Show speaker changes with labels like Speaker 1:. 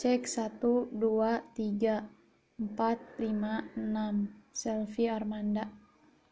Speaker 1: Cek 1, 2, 3, 4, 5, 6. Selvi Armanda.